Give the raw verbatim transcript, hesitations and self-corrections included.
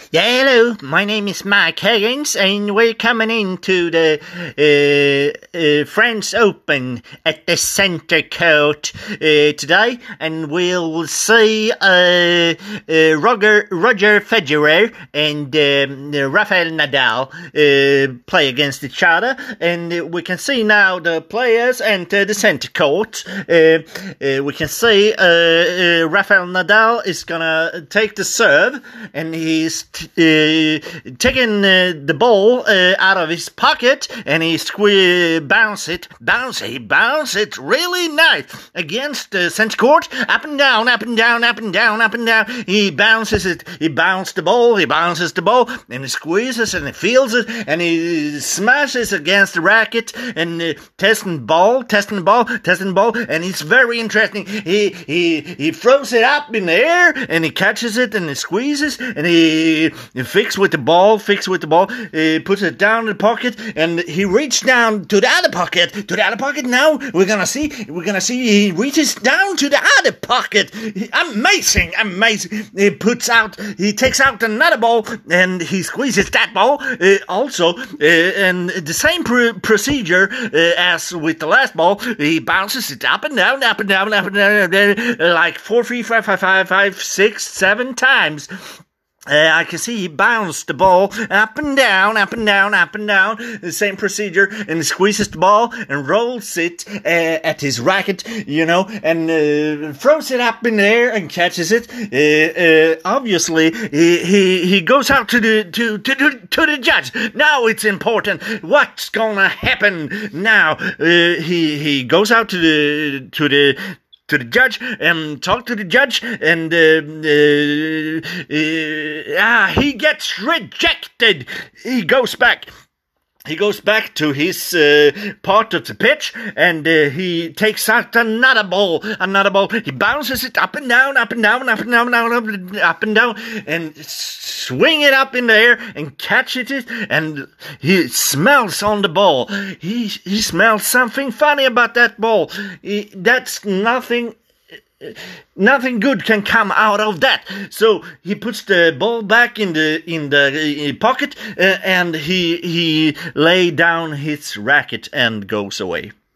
Yeah, hello. My name is Mike Higgins, and we're coming into the uh, uh, French Open at the Center Court uh, today, and we'll see uh, uh, Roger Roger Federer and um, Rafael Nadal uh, play against each other, and uh, we can see now the players enter the Center Court. Uh, uh, we can see uh, uh, Rafael Nadal is gonna take the serve, and he's Uh, taking uh, the ball uh, out of his pocket, and he squeeze bounce it, bounce it, bounce it really nice against the center court, up and down, up and down, up and down, up and down. He bounces it, he bounces the ball, he bounces the ball, and he squeezes and he feels it, and he smashes against the racket, and uh, testing ball, testing the ball, testing the ball, and it's very interesting. He he he throws it up in the air, and he catches it, and he squeezes, and he He fix with the ball, fix with the ball, uh, puts it down in the pocket, and he reached down to the other pocket, to the other pocket. Now we're gonna see, we're gonna see he reaches down to the other pocket. Amazing, amazing. He puts out, he takes out another ball, and he squeezes that ball uh, also, uh, and the same pr- procedure uh, as with the last ball. He bounces it up and down, up and down, up and down, up and down like four, three, five, five, five, five, six, seven times. Uh, I can see he bounced the ball up and down, up and down, up and down, the same procedure, and he squeezes the ball and rolls it uh, at his racket, you know, and uh, throws it up in the air and catches it. Uh, uh, obviously, he, he he goes out to the to to to, to the judge. Now it's important. What's gonna happen now? Uh, he he goes out to the to the. to the judge, and talk to the judge, and uh, uh, uh, ah, he gets rejected. He goes back. He goes back to his uh, part of the pitch, and uh, he takes out another ball, another ball. He bounces it up and down, up and down, up and down, down up, and up and down, and swing it up in the air and catch it. And he smells on the ball. He he smells something funny about that ball. He, that's nothing. Nothing good can come out of that. So he puts the ball back in the in the uh, pocket, uh, and he he lay down his racket and goes away.